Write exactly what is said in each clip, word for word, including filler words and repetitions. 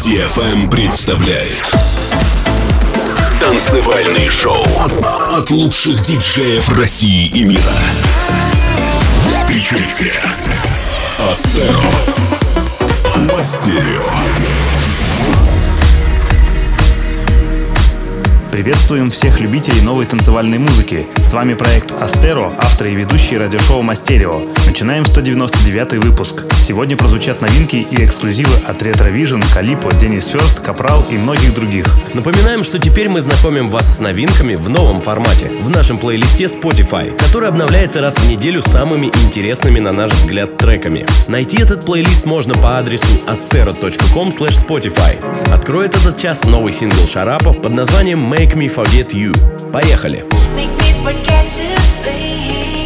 ди эф эм представляет танцевальный шоу от лучших диджеев России и мира. Встречайте Астеро Мастерио. Приветствуем всех любителей новой танцевальной музыки. С вами проект Астеро, автор и ведущий радиошоу Мастерио. Начинаем сто девяносто девятый выпуск. Сегодня прозвучат новинки и эксклюзивы от Retro Vision, Calippo, Dennis First, Капрал и многих других. Напоминаем, что теперь мы знакомим вас с новинками в новом формате, в нашем плейлисте Spotify, который обновляется раз в неделю самыми интересными, на наш взгляд, треками. Найти этот плейлист можно по адресу astero точка ком слэш спотифай. Откроет этот час новый сингл Шарапов под названием Make Me Forget You. Поехали! Make me forget to be.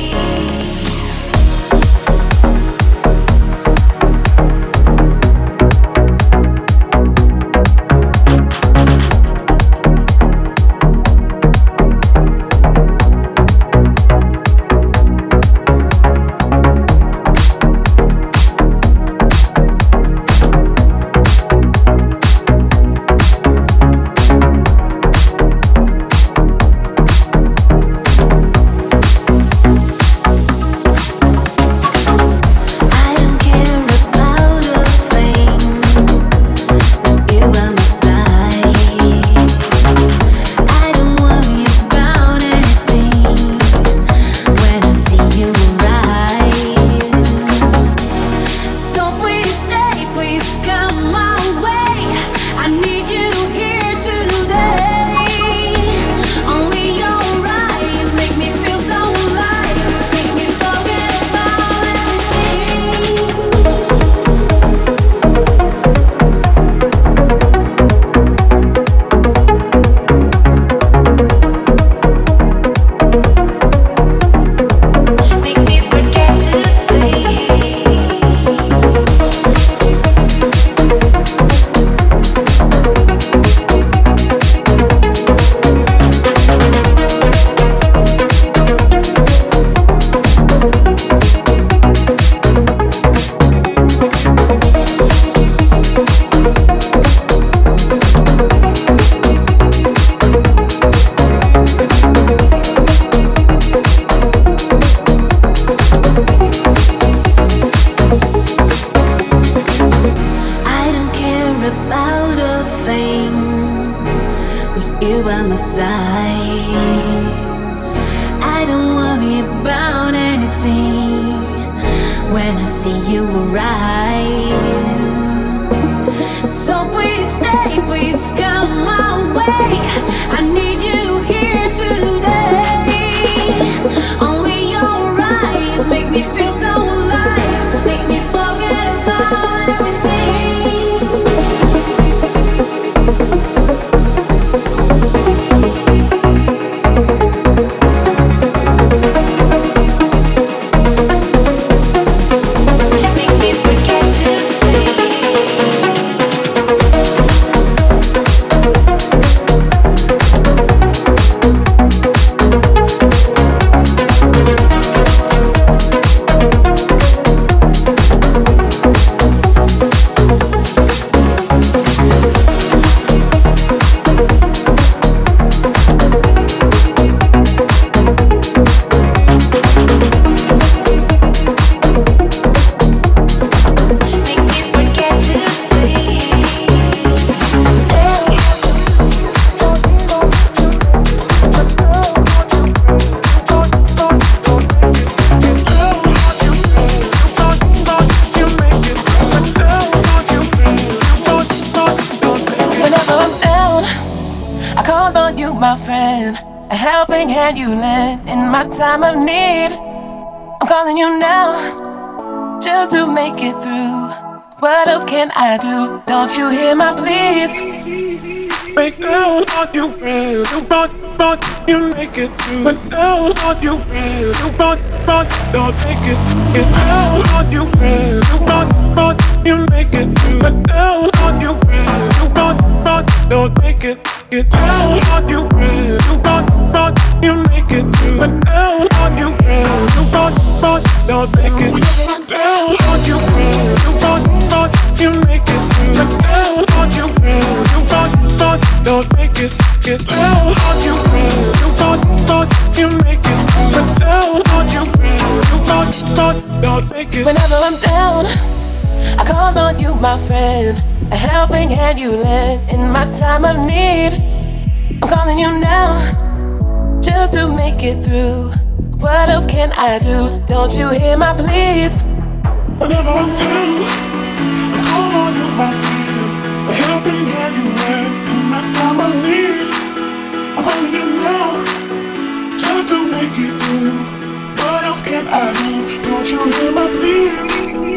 Time of need, I'm calling you now, just to make it through. What else can I do? Don't you hear my pleas? Break down on you, real. You brought, brought, you make it through. But down on you, real. You brought, brought, don't make it. Get down on you, real. You brought, brought, you make it through. But down on you, real. You brought, brought, don't make it. Get down on you, real. You brought, brought, you make it through. But down on you, real. You brought, brought, don't make it. Down on you, real. You brought, brought, you make it through. But down on you. called on you, my friend, a helping hand you lend in my time of need. I'm calling you now, just to make it through. What else can I do? Don't you hear my pleas? Whenever I'm down, I call on you, my friend, a helping hand you lend in my time of need. I'm calling you now, just to make it through. What else can I do? Don't you hear my pleas?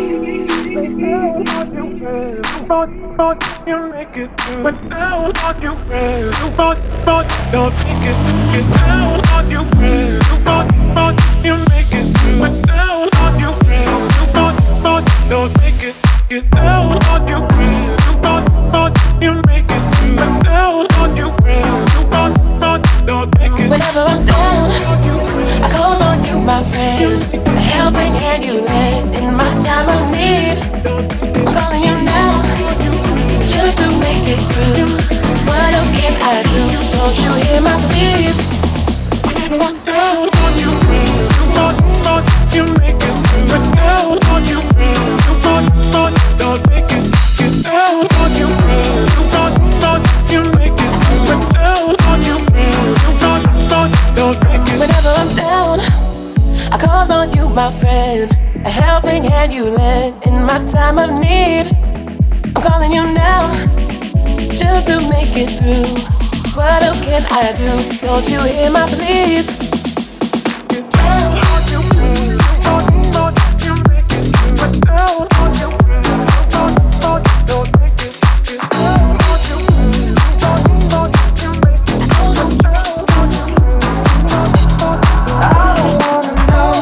You make it through. When down on you, friend, you want, want, don't make it. Get down on you, friend, you want, want, you make it through. When down on you, friend, you want, want, don't make it. Get down on you, friend, you want, want, you make it through. When down on you, friend, you want, want, don't make it. Whenever I'm down, I call on you, my friend, a helping hand you lend in my time of need. I'm calling you now, just to make it through. What else can I do? Don't you hear my pleas? Whenever I'm down on you, friend, you want, want, you make it through. When down on you, friend, you want, want, don't make it. Get down on you, friend, you want, want, you make it through. When down on you, friend, you want, want, don't make it. Whenever I'm down, I call on you, my friend, a helping hand you lend in my time of need. I'm calling you now, just to make it through. What else can I do? Don't you hear my pleas? Get down on you, friend, you want, want, you make it through. When down on you, friend, you want, want, don't make it. Get down on you, friend, you want, want, you make it through. When down on you, friend, you want, want, I don't wanna know.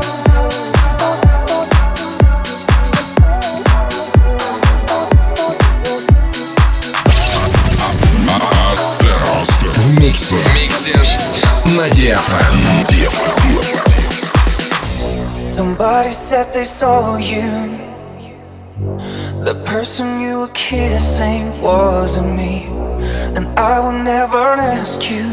В миксе. На диафрагме. Somebody said they saw you. The person you were kissing wasn't me, and I will never ask you.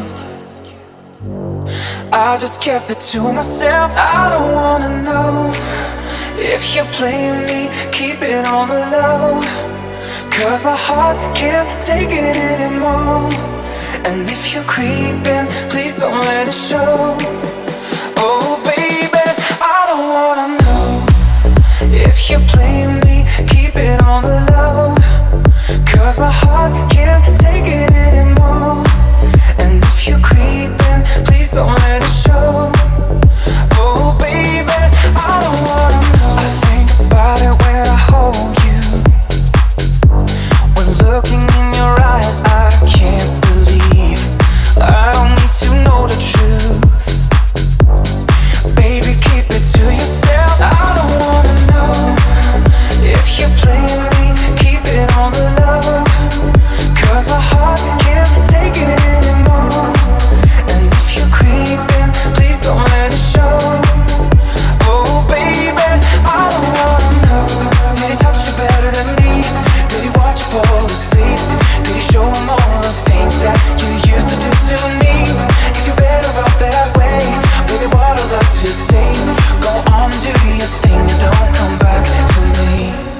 I just kept it to myself. I don't wanna know if you're playing me. Keep it on the low, 'cause my heart can't take it anymore. And if you're creeping, please don't let it show. Oh baby, I don't wanna know if you're playing me. Keep it on the low, 'cause my heart can't take it anymore. And if you're creeping, please don't let it show. Oh baby, I don't wanna know. I think about it when I hold you. When looking in your eyes, I can't believe I don't need to know the truth. Baby, keep it to yourself. I don't wanna know if you're playing me. Keep it on the low, 'cause my heart can't take it anymore. And if you're creeping, please don't let it show. Oh baby, I don't wanna know. Did he touch you better than me? Did he watch you fall asleep? Did he show him all the things that you used to do to me? If you're better off that way, baby, what I'd love to say. Go on, do your thing, and don't come back to me.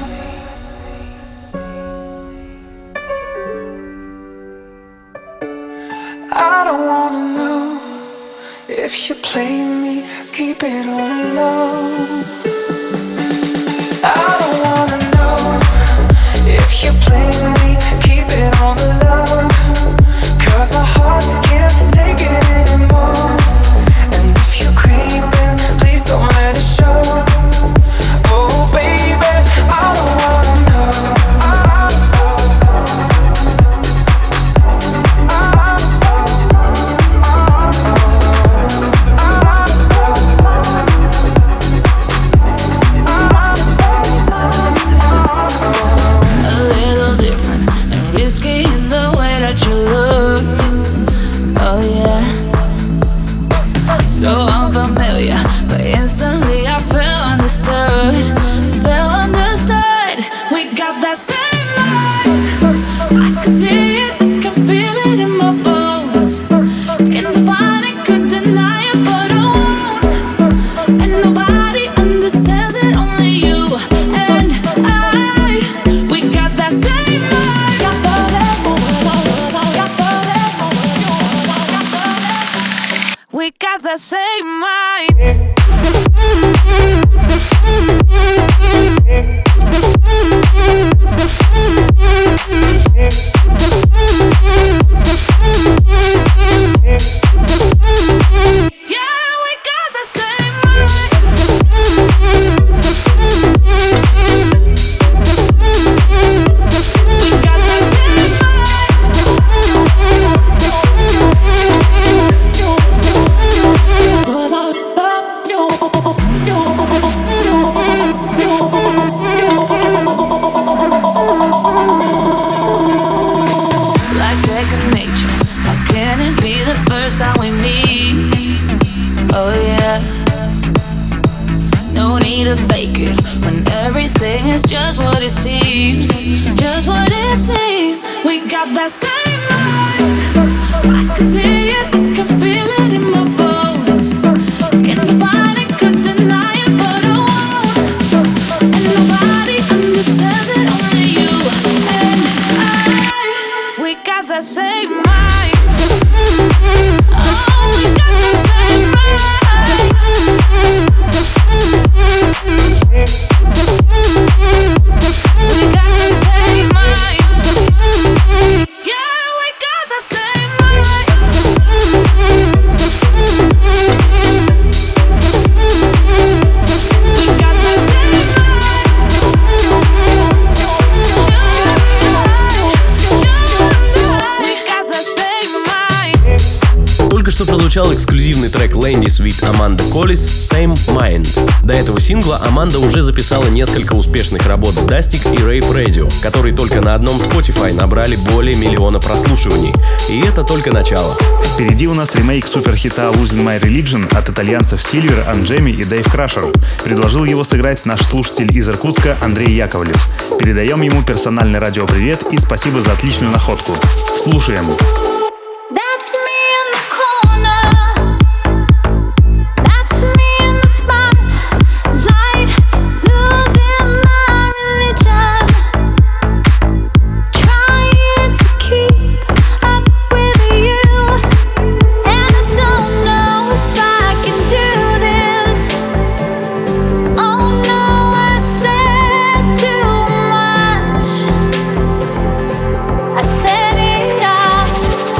I don't wanna know if you play me. Keep it on low. I don't wanna know if you play me. Keep it on the low, 'cause my heart can't take it anymore. And if you're creeping, please don't let it show. Oh baby, I don't wanna know. Nobody understands it, only you and I. seems, just what it seems. We got that same mind. I can see it, I can feel it in my bones. Can't define it, could deny it, but I won't. And nobody understands it, only you and I. We got that same mind. Oh, we got that same mind. We got the same mind. Yeah, we got the same mind. We got the same mind. We got the same mind. Только что прозвучал эксклюзивный трек Landis with Amanda Collis «Same Mind». До этого сингла Аманда уже записала несколько успешных работ с Dustic и Rave Radio, которые только на одном Spotify набрали более миллиона прослушиваний. И это только начало. Впереди у нас ремейк суперхита Losing My Religion от итальянцев Silver, Анджеми и Дэйв Крашер. Предложил его сыграть наш слушатель из Иркутска Андрей Яковлев. Передаем ему персональный радиопривет и спасибо за отличную находку. Слушаем. That's me in the corner. That's me in the spotlight, losing my religion, trying to keep up with you, and I don't know if I can do this. Oh no, I said too much. I said it all.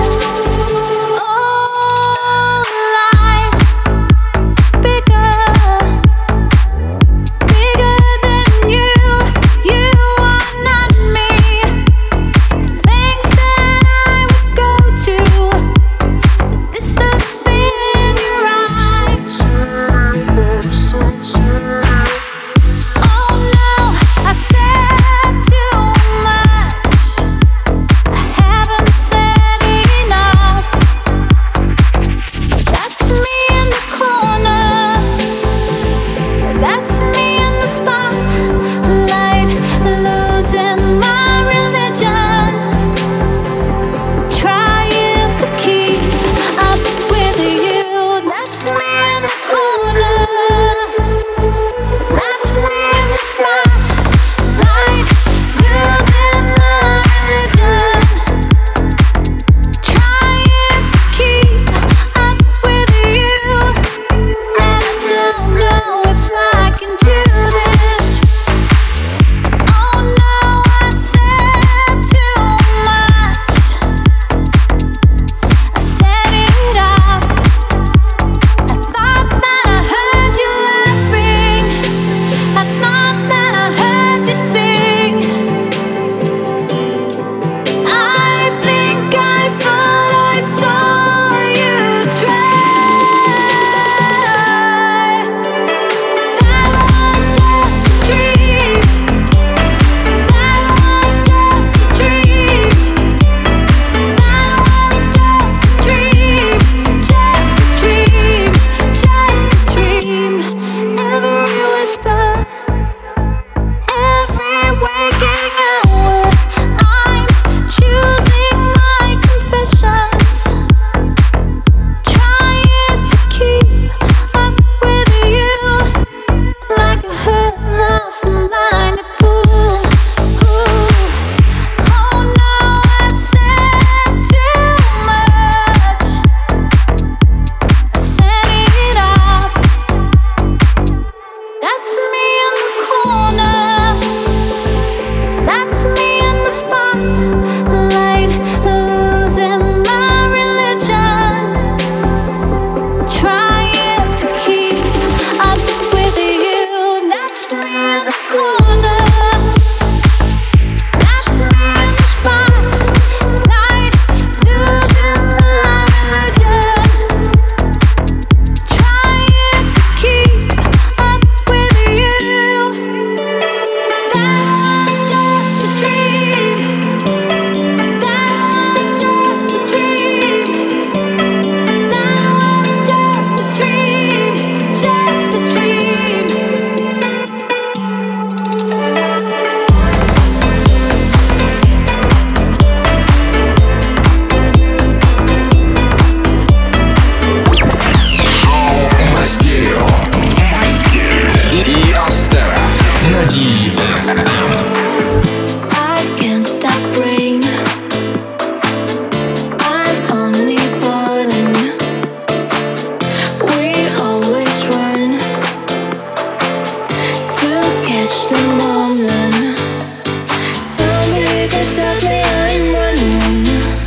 can stop me, I'm running.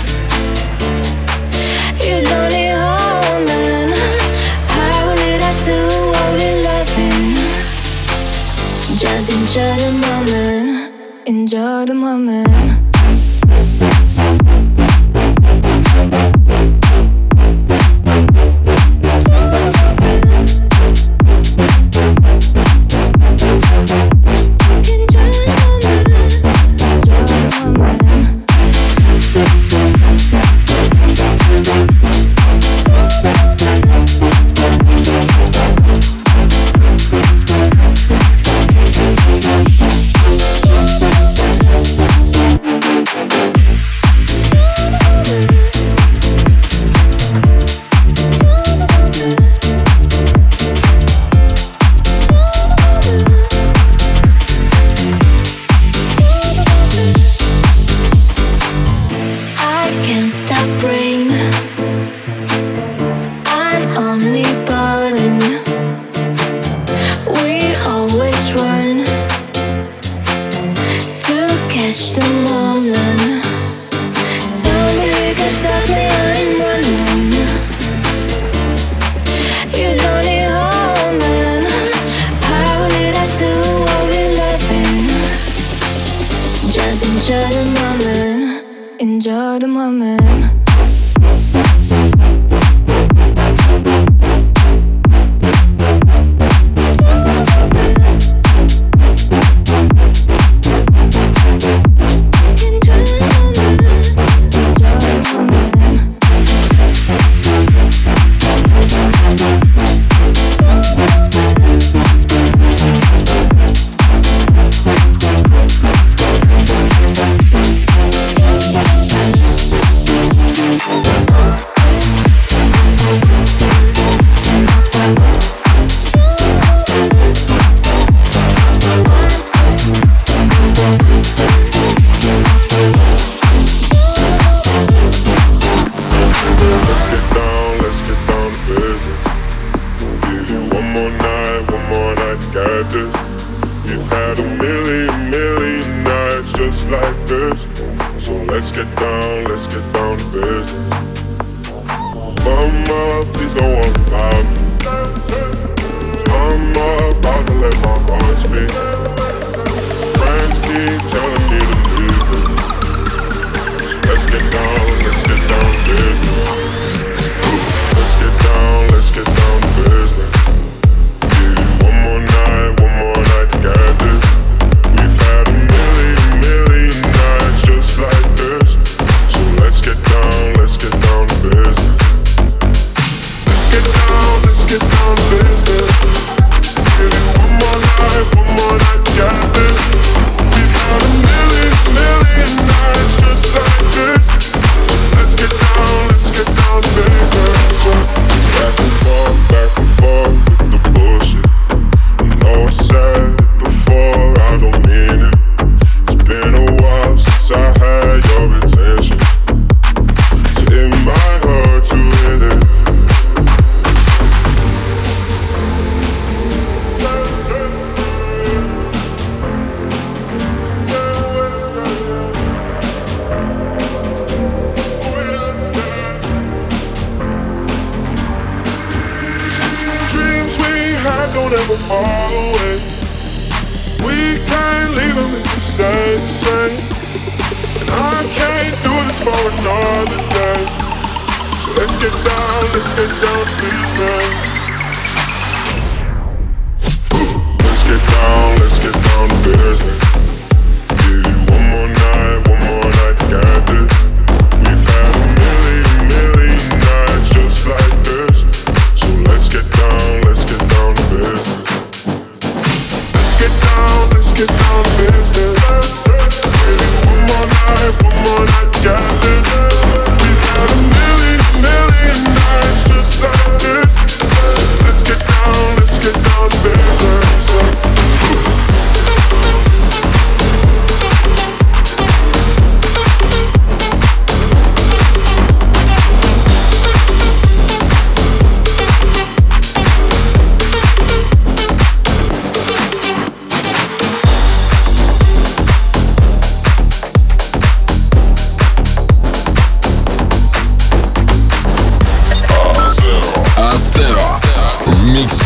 You don't need holding. How will it us do what we're loving? Just enjoy the moment. Enjoy the moment. Enjoy the moment.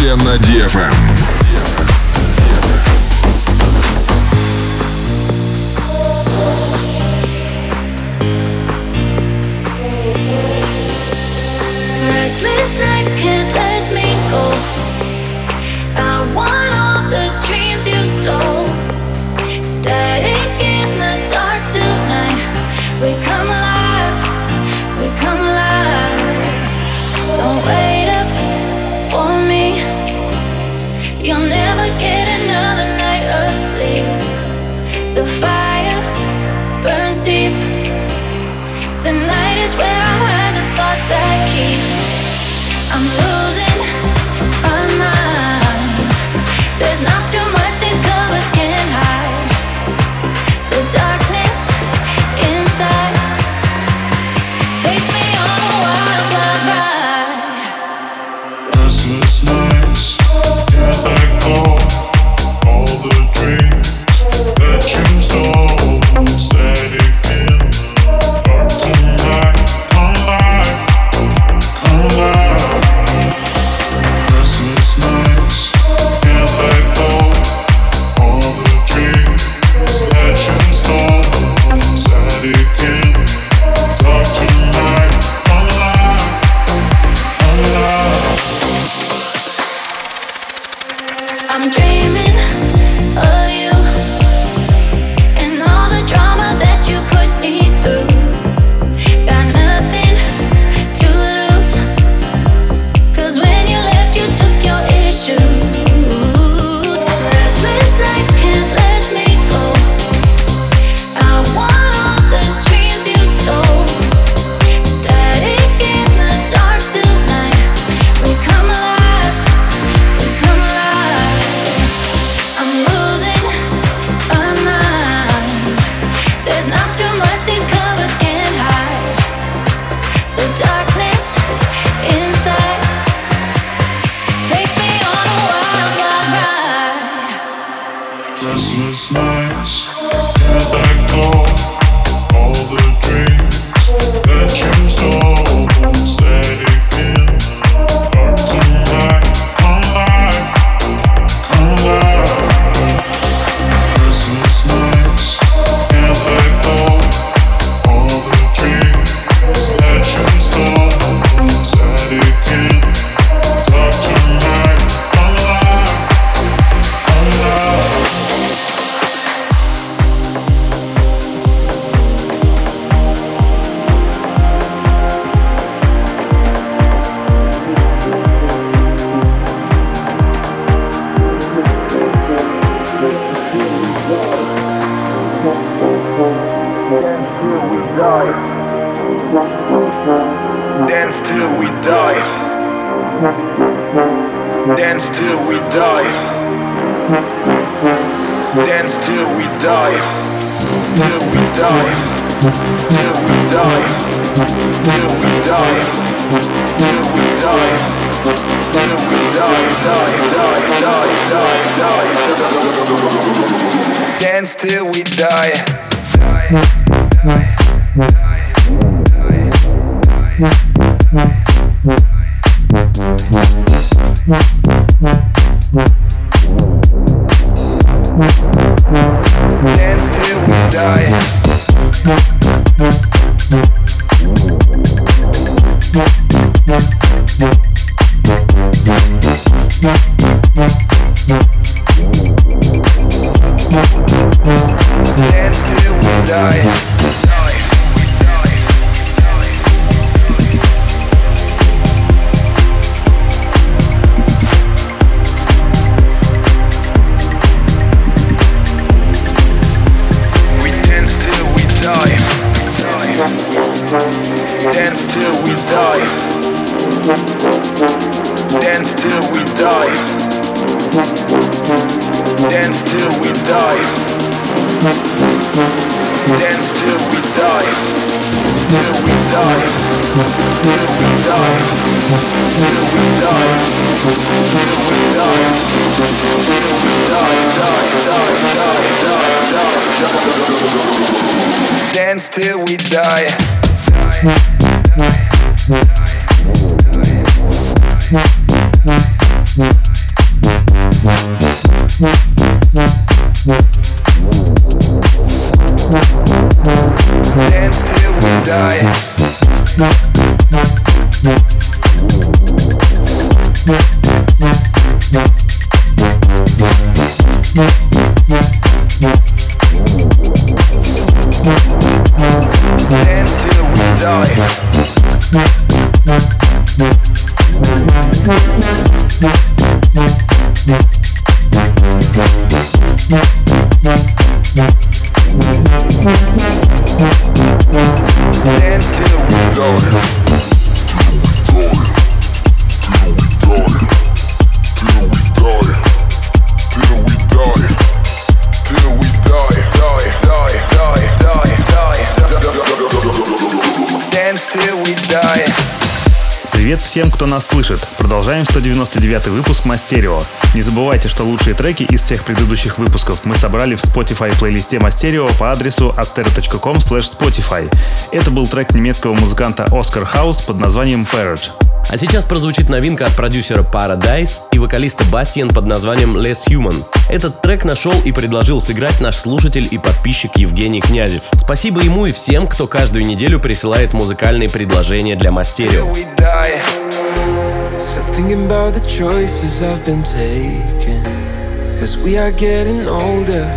Только на ди эф эм. Restless nights can't let me go. I want all the dreams you stole. Static in the dark tonight. We come alive, we come alive. Don't wait up for me. You'll never get another night of sleep. The fire burns deep. The night is where I hide the thoughts I keep. I'm losing my mind. There's not too much these covers can't hide. The darkness inside takes me on a wild, wild ride. Restless nights, can't let go. All the dreams that you stole. Static in the dark tonight. Come alive, come alive. Restless nights, can't let go. All the dreams that you stole. Static in the dark tonight. Come alive, come alive. I'm dreaming of you and all the drama that you put me through. Got nothing to lose, 'cause when you left you took your issues. Restless nights can't let me go. I want all the dreams you stole. Static in the dark tonight. We come alive, we come alive. I'm losing my mind. There's not too much these covers can't hide. The darkness inside takes me on a wild, wild ride. Restless nights, can't let go. All the dreams that you stole. Static in the dark tonight. Come alive, come alive. Restless nights, can't let go. All the dreams that you stole. Static in the dark tonight. Come alive, come alive. Dance till we die. Dance till we die. Dance till we die. Till we die. Till we die. Till we die. Till we die. Till we die. Die, die, die, die, die. Dance till we die. Die, die, die. Dance till we die. Dance till we die. We dance till we die. Dance till we die. Dance till we die. Dance till we die. Dance till we die. Till we die. Till we die. Till we die. Till we die. Till we die. Die, die, die, die, die. Dance till we die. Die, die, die, die, die. die. Dance till we die. Dance till we die. Привет всем, кто нас слышит. Продолжаем сто девяносто девятый выпуск Мастерио. Не забывайте, что лучшие треки из всех предыдущих выпусков мы собрали в Spotify плейлисте Мастерио по адресу astero точка ком слэш spotify. Это был трек немецкого музыканта Оскар Хаус под названием Parrot. А сейчас прозвучит новинка от продюсера Paradise и вокалиста Бастиан под названием Less Human. Этот трек нашел и предложил сыграть наш слушатель и подписчик Евгений Князев. Спасибо ему и всем, кто каждую неделю присылает музыкальные предложения для Мастерио. So thinking about the choices I've been taking, 'cause we are getting older.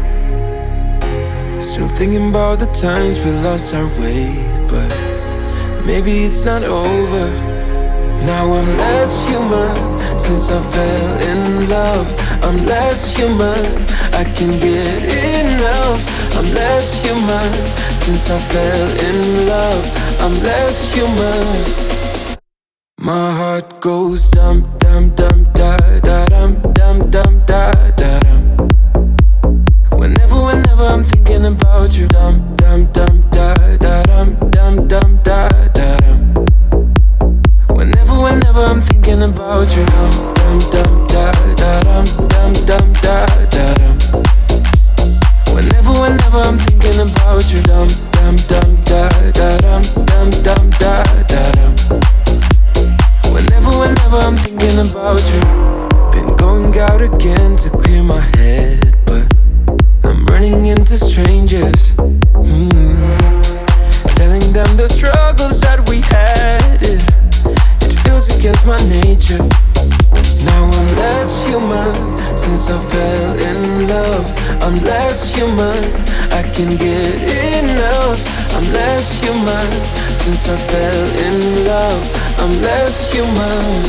Still thinking about the times we lost our way, but maybe it's not over. Now I'm less human since I fell in love. I'm less human, I can get enough. I'm less human since I fell in love. I'm less human. My heart goes dum dum dum da da dum dum dum da da dum. Whenever, whenever I'm thinking about you, dum dum dum da da dum dum dum da da dum. Whenever, whenever I'm thinking about you, dum dum dum da da dum dum dum da da dum. Whenever, whenever I'm thinking about you, dum dum dum da da dum dum dum da da dum. Whenever, whenever I'm thinking about you. Been going out again to clear my head, but I'm running into strangers, mm. Telling them the struggles that we had, it, it feels against my nature. Now I'm less human since I fell in love. I'm less human, I can get enough. I'm less human since I fell in love. I'm less human.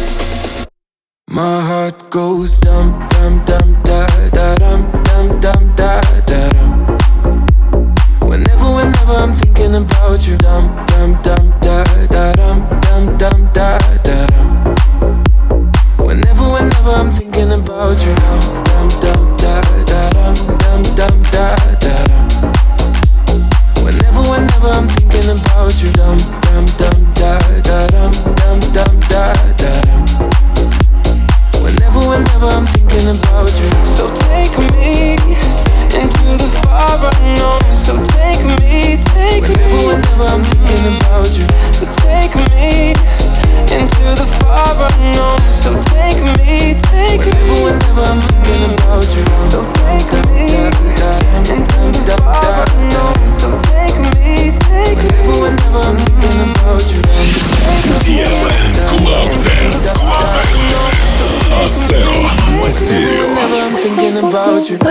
My heart goes dum dum dum da da dum dum dum da da dum. Whenever, whenever I'm thinking about you, dum dum dum da da dum dum dum da da dum. Whenever, whenever I'm thinking about you, dum dum dum da da dum dum dum da da dum. Whenever, whenever I'm thinking about you, dum dum dum da da dum dum dum da da dum. Whenever, whenever I'm thinking about you. So take me into the far unknown. So take me, take whenever, me whenever I'm thinking about you. So take me into the far unknown. So take me, take whenever, me whenever I'm thinking about you. So take me into the far unknown. So take me, take whenever, whenever I'm thinking about you. ти эф эм Club Dance. Astero Мастерио. Whenever I'm thinking about you.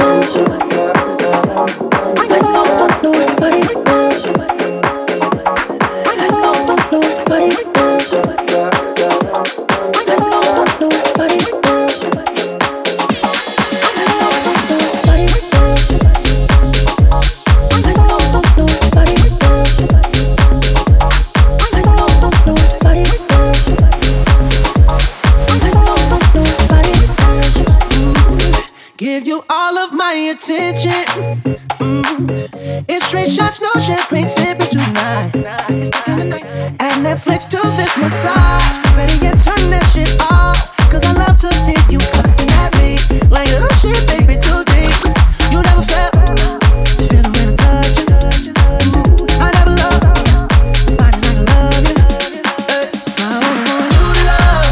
Give you all of my attention. Mm. It's straight shots, no champagne sipping tonight. It's the kind of night. Add Netflix to this massage. Better yet, turn that shit off. Cause I love to hear you cussing at me. Like, oh shit, baby, too deep. You never felt this feeling when I touch you. Ooh, I never loved nobody like I love you. Hey, it's my only one you love.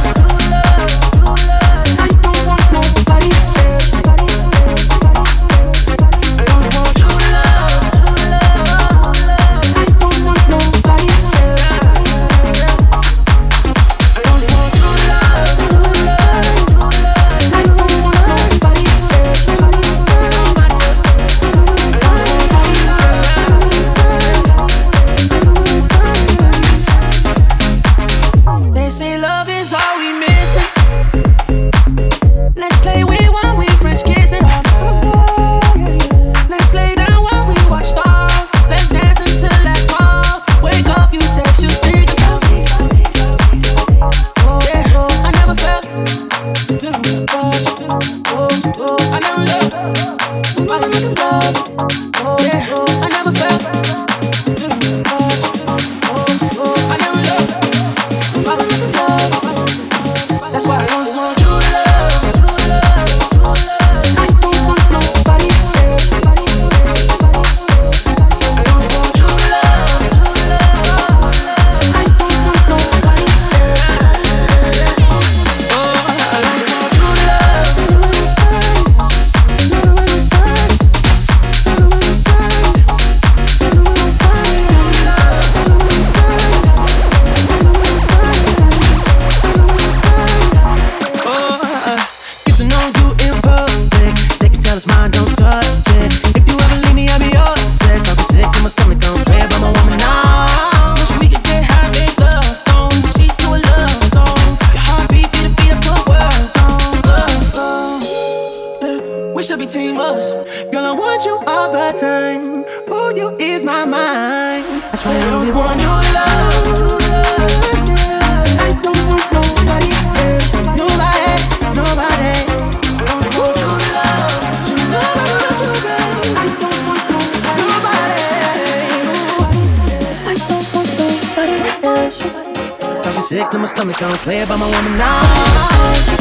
I don't want nobody else. I only want you to love. I don't want no my mind. That's why I only want your love. I don't want nobody else. Nobody, nobody. I only want your love. I don't want nobody. I don't want nobody else. Talking sick to my stomach, I don't play about my woman now.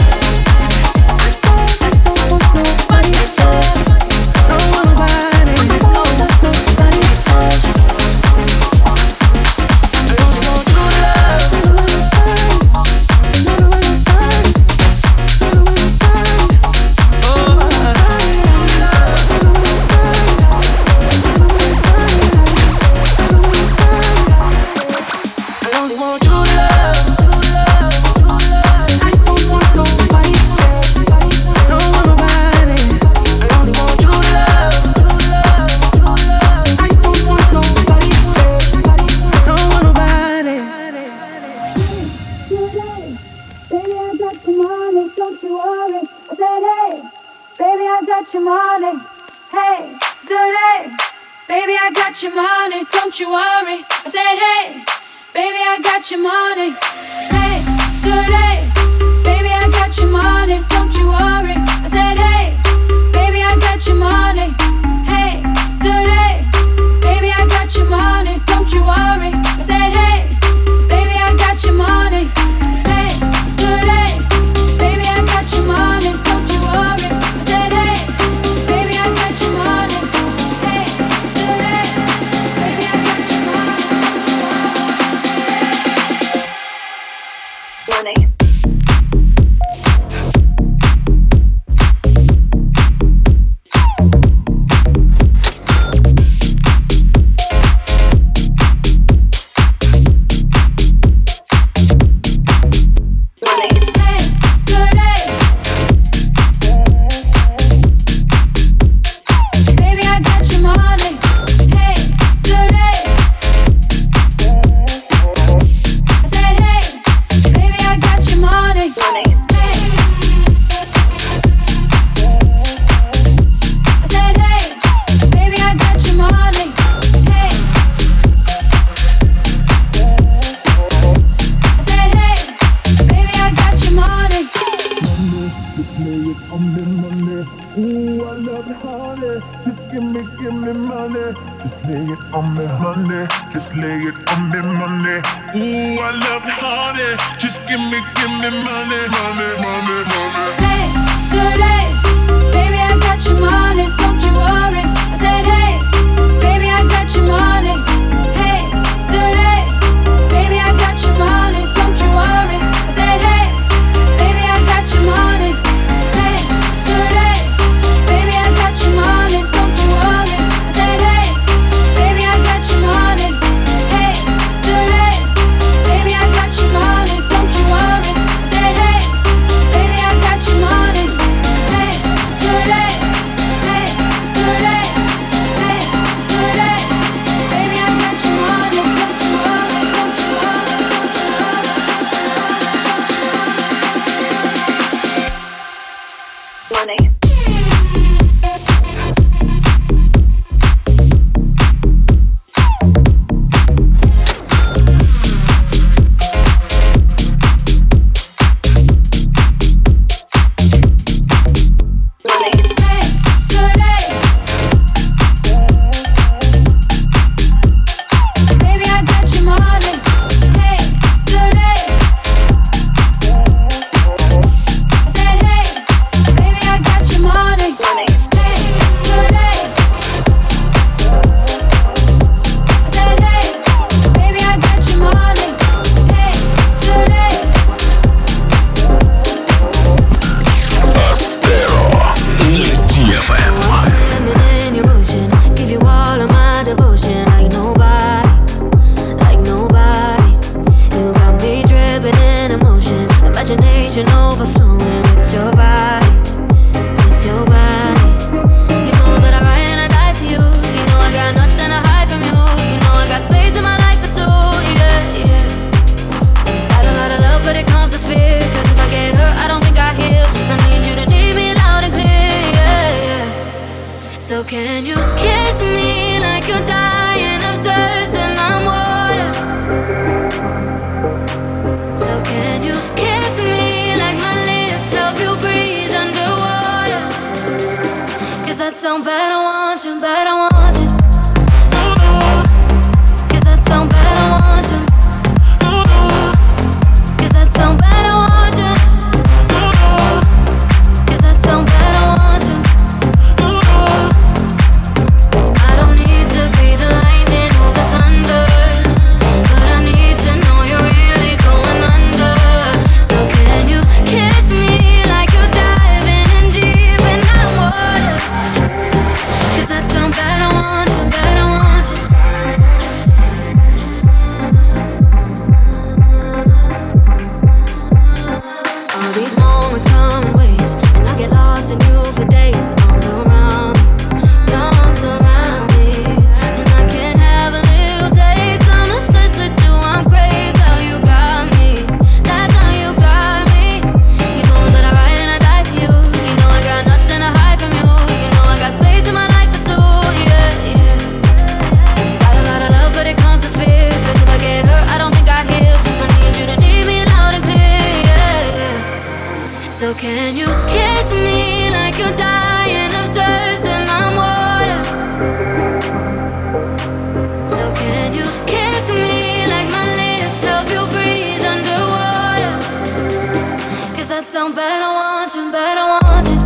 sound bad, I want you, bad, I want you.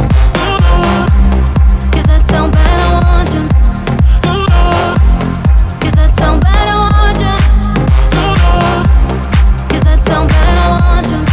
Does that sound bad, I want you. Does that sound bad, I want you. Does that sound bad, I want you.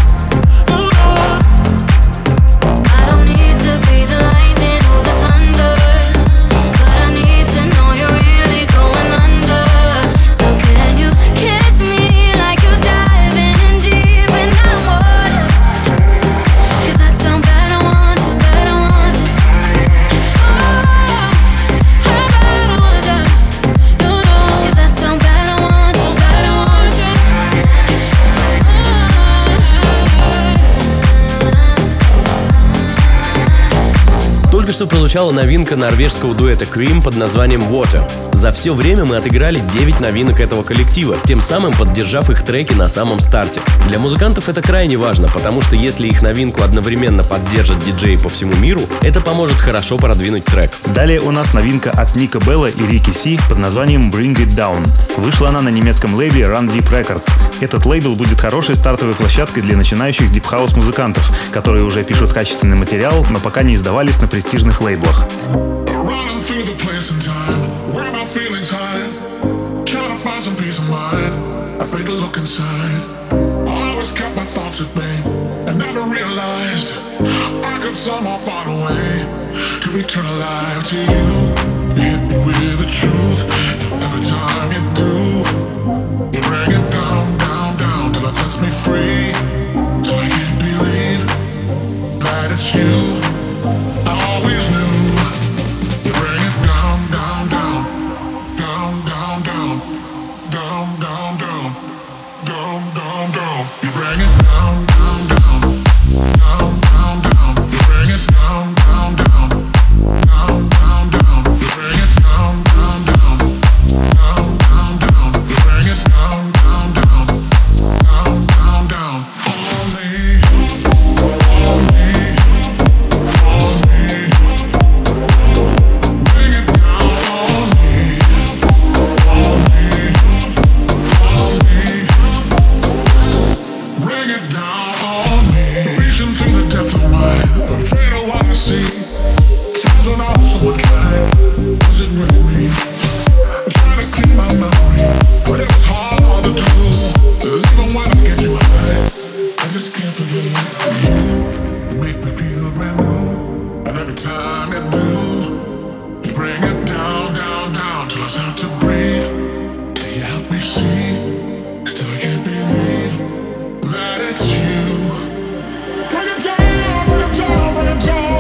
I don't need to be the lightning or the thunder, but I need to know you're really going under. So can you kiss me like you're diving in deep in that water? Does that sound bad, I want you, bad, I want you. Oh, how bad I want you. No, no. Does that sound bad, I want you, bad, I want you. Только что прозвучала новинка норвежского дуэта Cream под названием Water. За все время мы отыграли девять новинок этого коллектива, тем самым поддержав их треки на самом старте. Для музыкантов это крайне важно, потому что если их новинку одновременно поддержат диджеи по всему миру, это поможет хорошо продвинуть трек. Далее у нас новинка от Ника Белла и Рики Си под названием Bring It Down. Вышла она на немецком лейбле Run Deep Records. Этот лейбл будет хорошей стартовой площадкой для начинающих дип-хаус музыкантов, которые уже пишут качественный материал, но пока не издавались на престижных лейблах. Running through the place and time where my feelings hide, trying to find some peace of mind. I take a look inside. I always kept my thoughts at bay and never realized I could somehow find a way to return alive to you. You hit me with the truth, and every time you do, you bring it down, down, down till it sets me free. Till I can't believe that it's you. I always knew. You bring it down, down, down, down, down, down, down, down, down, down, down, down. You bring it down, down, down, down, down, down. You bring it down, down, down, down, down, down. You bring it down, down, down, down, down, down. You bring it down, down, down, down, down, down. On me, on me. Afraid of what I see. Times when I was so unkind. Does it really mean I'm trying to clean my memory, but it was hard to do. 'Cause even when I get you high, I just can't forget you. You make me feel brand new, and every time you do, you bring it down, down, down till I start to breathe. Till you help me see, still I can't believe that it's you. Bring it down, bring it down, bring it down.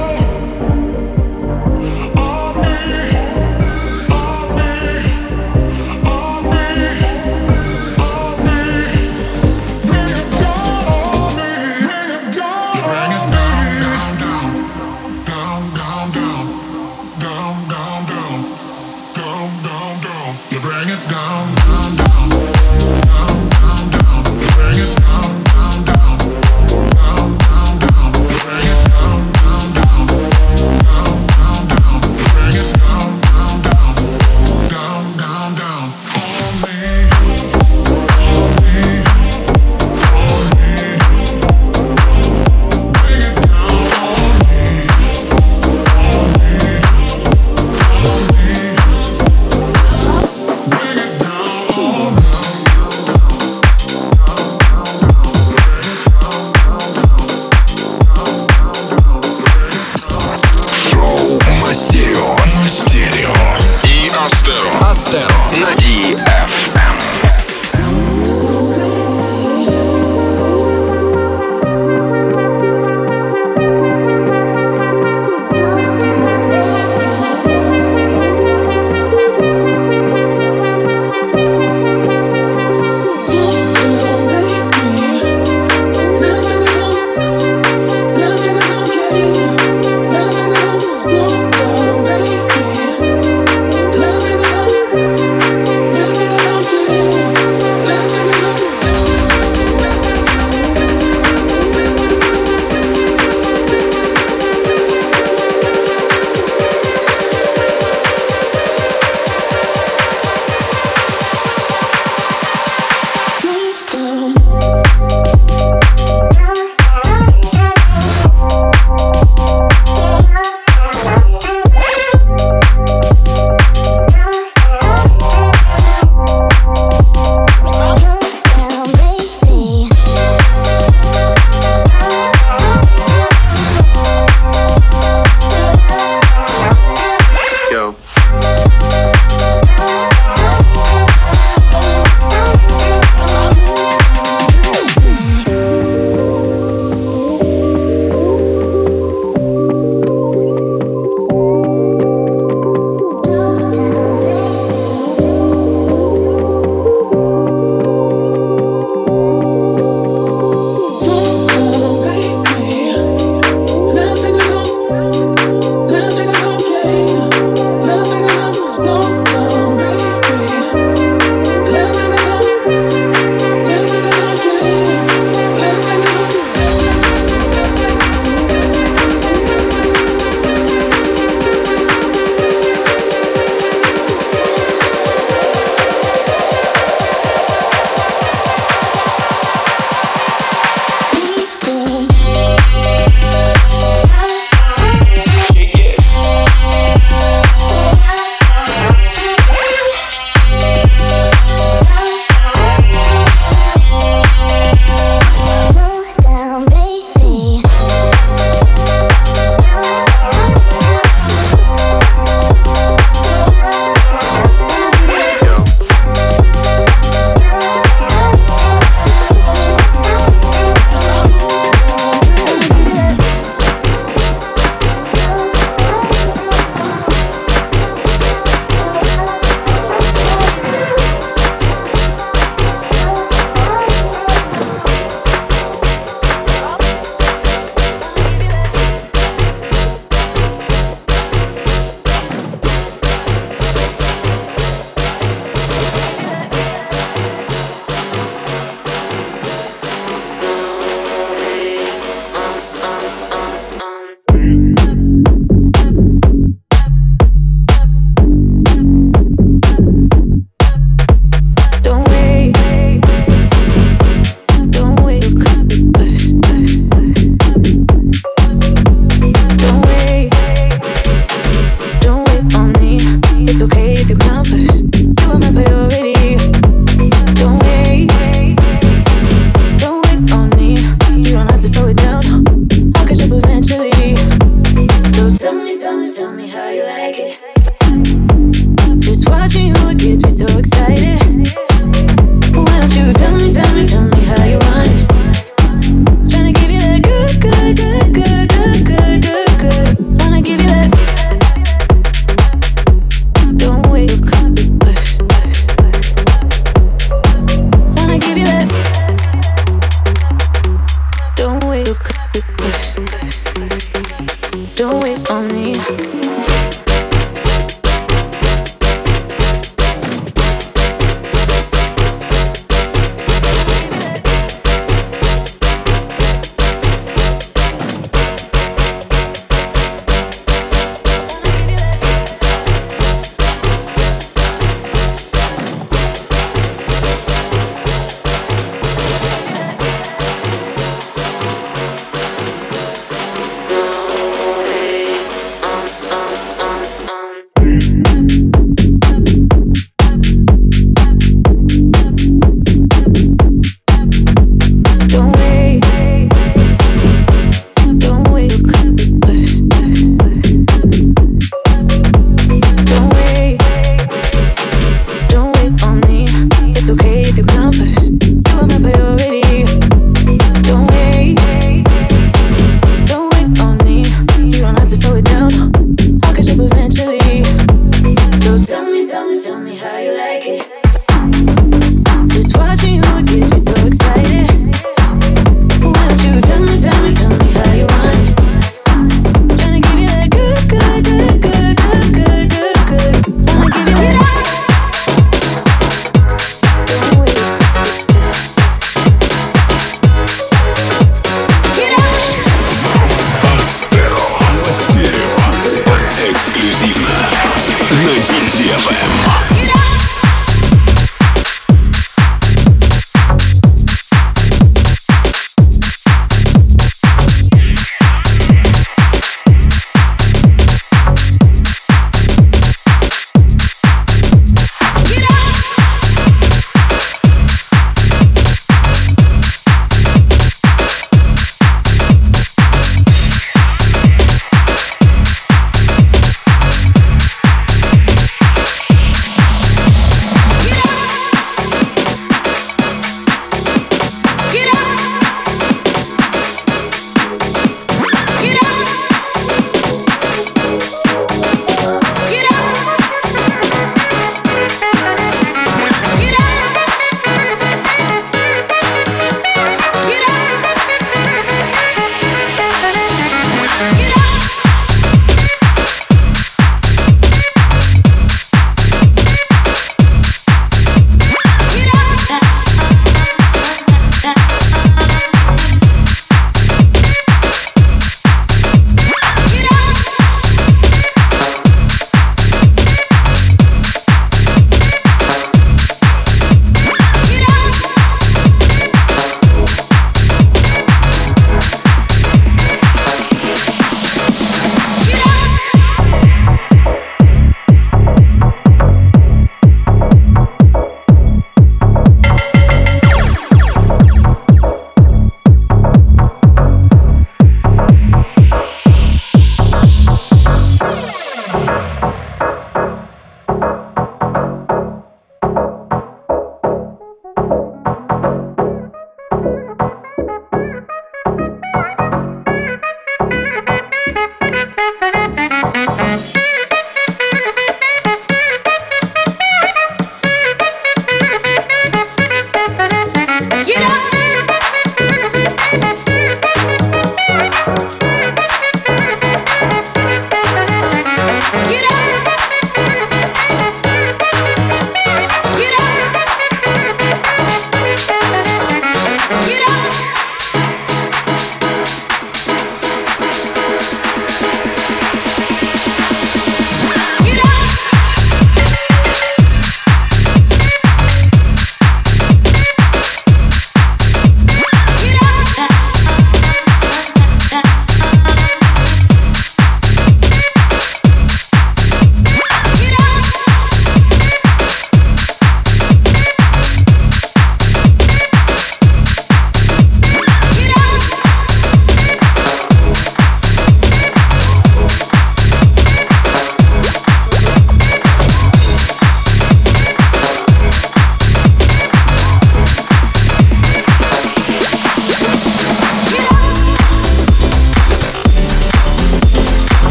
On me, on me, on me, on me. Bring it down on me, bring it down. You bring it down, down, down, down, down, down, down, down, down, down, down. You bring it down, down, down, down, down, down. You bring it down, down, down. Down, down, down. You bring it down, down, down, down, down, down. You bring it down, down, down, down, down, down. On me, on me, on me. Bring it down on me, on me, on me. Bring it down on me. Шоу Мастерио. Мастерио. И Астеро. Астеро. На ди эф эм. Let's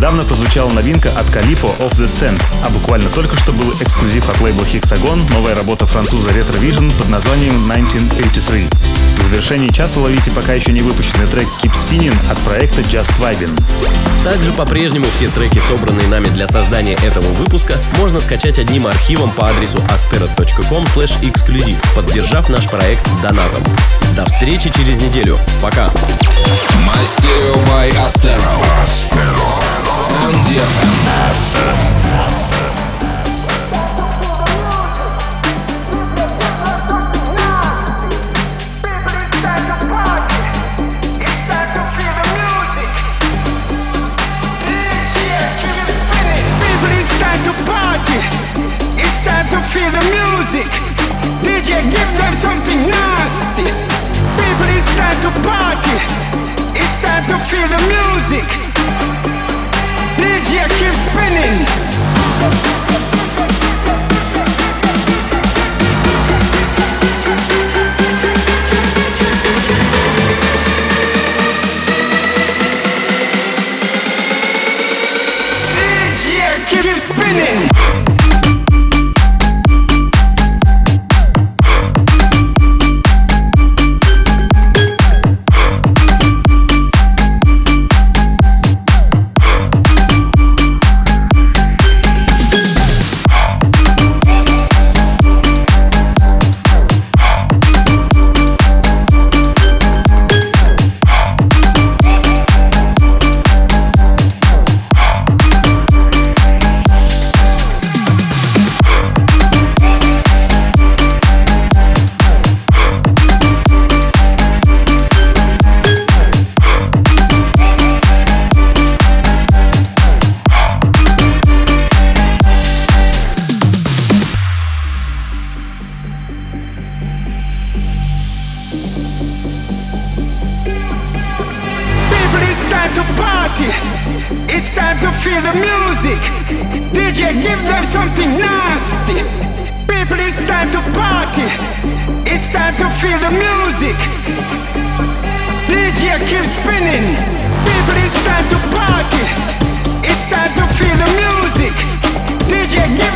Недавно прозвучала новинка от Calippo Off the Sand, а буквально только что был эксклюзив от лейбла Hexagon, новая работа француза Retrovision под названием тысяча девятьсот восемьдесят три. В завершении часа ловите пока еще не выпущенный трек Keep Spinning от проекта Just Vibin'. Также по-прежнему все треки, собранные нами для создания этого выпуска, можно скачать одним архивом по адресу astero точка ком слэш эксклюзив, поддержав наш проект донатом. До встречи через неделю. Пока. Мастерио by Astero. On ди эф эм. Feel the music, D J give them something nasty. People, it's time to party. It's time to feel the music. D J keep spinning. D J keep spinning. It's time to feel the music. D J give them something nasty. People, it's time to party. It's time to feel the music. D J keep spinning. People, it's time to party. It's time to feel the music. D J give